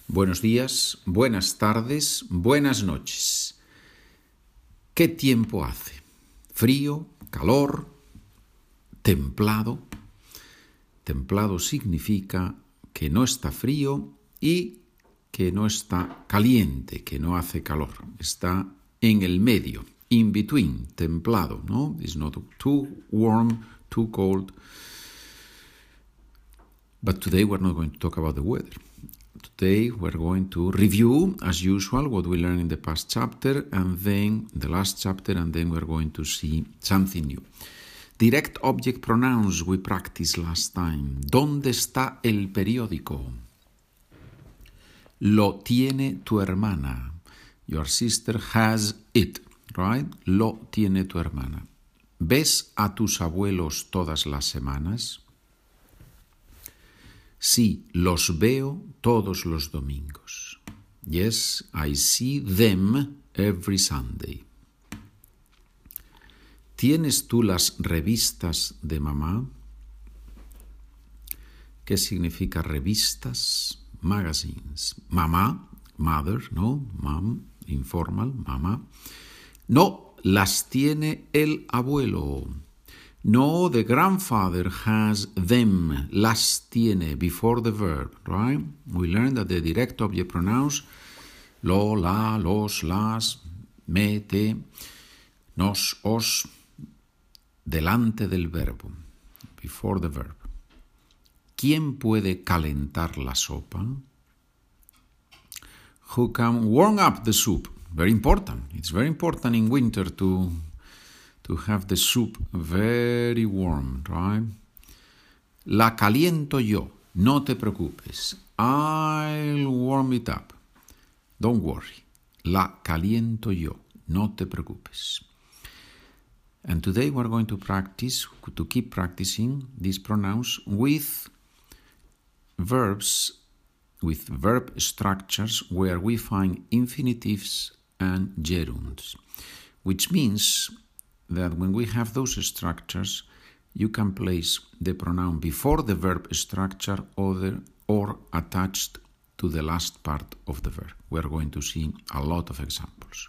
Buenos días, buenas tardes, buenas noches. ¿Qué tiempo hace? ¿Frío, calor, templado? Templado significa que no está frío y que no está caliente, que no hace calor. Está en el medio, in between, templado, ¿no? It's not too warm, too cold. But today we're not going to talk about the weather. Today we're going to review, as usual, what we learned in the past chapter and then the last chapter, and then we're going to see something new. Direct object pronouns we practiced last time. ¿Dónde está el periódico? Lo tiene tu hermana. Your sister has it, right? Lo tiene tu hermana. ¿Ves a tus abuelos todas las semanas? Sí, los veo todos los domingos. Yes, I see them every Sunday. ¿Tienes tú las revistas de mamá? ¿Qué significa revistas? Magazines. Mamá, mother, ¿no? Mom, informal, mamá. No, las tiene el abuelo. No, the grandfather has them. Las tiene before the verb, right? We learned that the direct object pronouns, lo, la, los, las, me, te, nos, os, delante del verbo, before the verb. ¿Quién puede calentar la sopa? Who can warm up the soup? Very important. It's very important in winter to have the soup very warm, right? La caliento yo. No te preocupes. I'll warm it up. Don't worry. La caliento yo. No te preocupes. And today we're going to practice, to keep practicing these pronouns with verbs, with verb structures where we find infinitives and gerunds, which means that when we have those structures, you can place the pronoun before the verb structure or attached to the last part of the verb. We're going to see a lot of examples.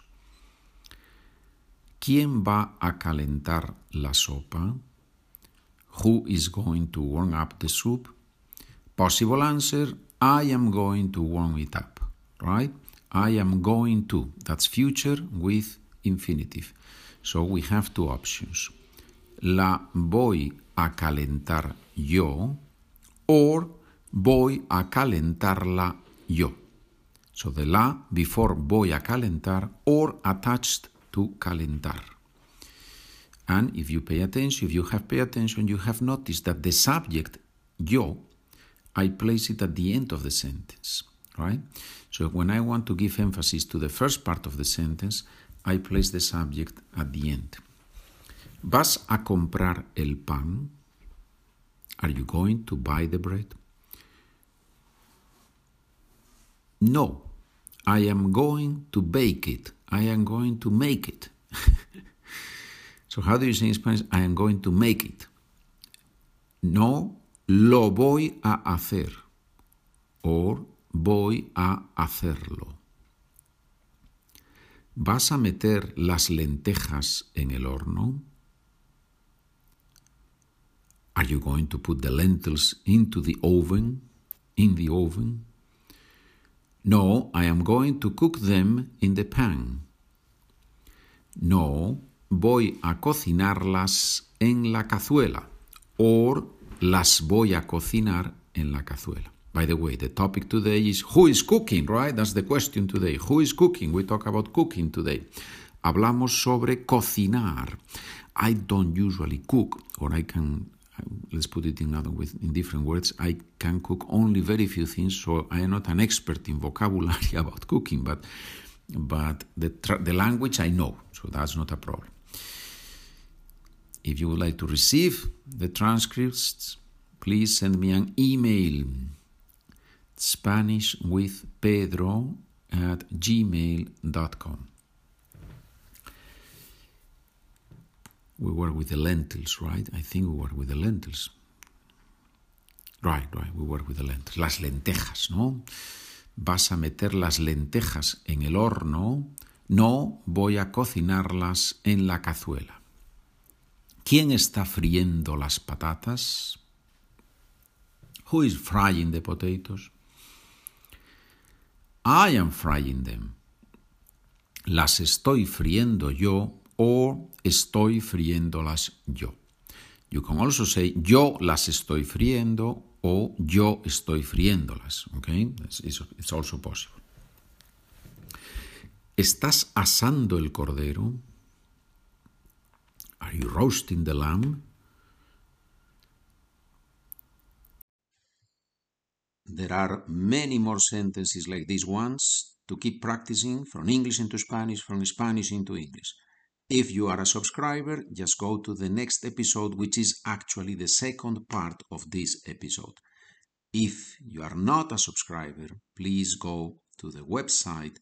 ¿Quién va a calentar la sopa? Who is going to warm up the soup? Possible answer, I am going to warm it up, right? I am going to. That's future with infinitive. So we have two options. La voy a calentar yo or voy a calentarla yo. So the la before voy a calentar or attached to calentar. And if you pay attention, if you have paid attention, you have noticed that the subject yo, I place it at the end of the sentence, right? So when I want to give emphasis to the first part of the sentence, I place the subject at the end. ¿Vas a comprar el pan? Are you going to buy the bread? No, I am going to bake it. I am going to make it. So how do you say in Spanish? I am going to make it. No, lo voy a hacer. Or voy a hacerlo. ¿Vas a meter las lentejas en el horno? Are you going to put the lentils into the oven? In the oven? No, I am going to cook them in the pan. No, voy a cocinarlas en la cazuela. Or las voy a cocinar en la cazuela. By the way, the topic today is who is cooking, right? That's the question today. Who is cooking? We talk about cooking today. Hablamos sobre cocinar. I don't usually cook, or I can, let's put it in different words, I can cook only very few things, so I am not an expert in vocabulary about cooking, but the language I know, so that's not a problem. If you would like to receive the transcripts, please send me an email. SpanishWithPedro@gmail.com. We work with the lentils, right? I think we work with the lentils. Right, we work with the lentils. Las lentejas, ¿no? vas a meter las lentejas en el horno, no voy a cocinarlas en la cazuela. ¿Quién está friendo las patatas? Who is frying the potatoes? I am frying them. Las estoy friendo yo o estoy friéndolas yo. You can also say yo las estoy friendo o yo estoy friéndolas. Okay? It's also possible. ¿Estás asando el cordero? Are you roasting the lamb? There are many more sentences like these ones to keep practicing from English into Spanish, from Spanish into English. If you are a subscriber, just go to the next episode, which is actually the second part of this episode. If you are not a subscriber, please go to the website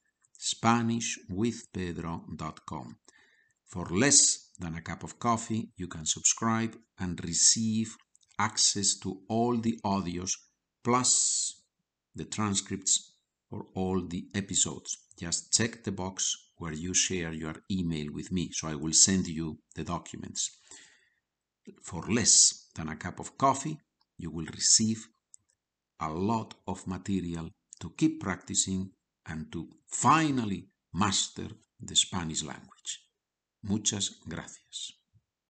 SpanishWithPedro.com. For less than a cup of coffee, you can subscribe and receive access to all the audios plus the transcripts for all the episodes. Just check the box where you share your email with me, so I will send you the documents. For less than a cup of coffee, you will receive a lot of material to keep practicing and to finally master the Spanish language. Muchas gracias.